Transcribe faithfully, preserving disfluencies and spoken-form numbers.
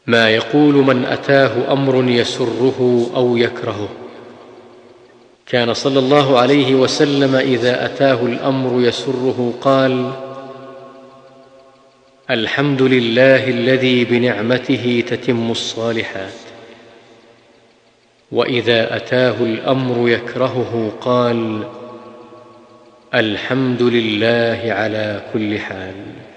ما يقول من أتاه أمر يسره أو يكرهه. كان صلى الله عليه وسلم إذا أتاه الأمر يسره قال: الحمد لله الذي بنعمته تتم الصالحات. وإذا أتاه الأمر يكرهه قال: الحمد لله على كل حال.